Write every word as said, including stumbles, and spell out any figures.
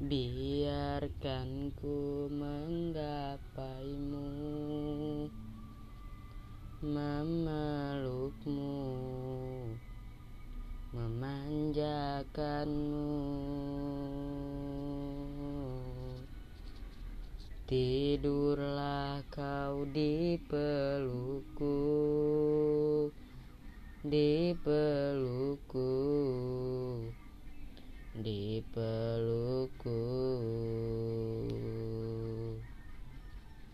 Biarkan ku menggapaimu, memelukmu, memanjakanmu. Tidurlah kau di pelukku, di pelukku, di pelukku.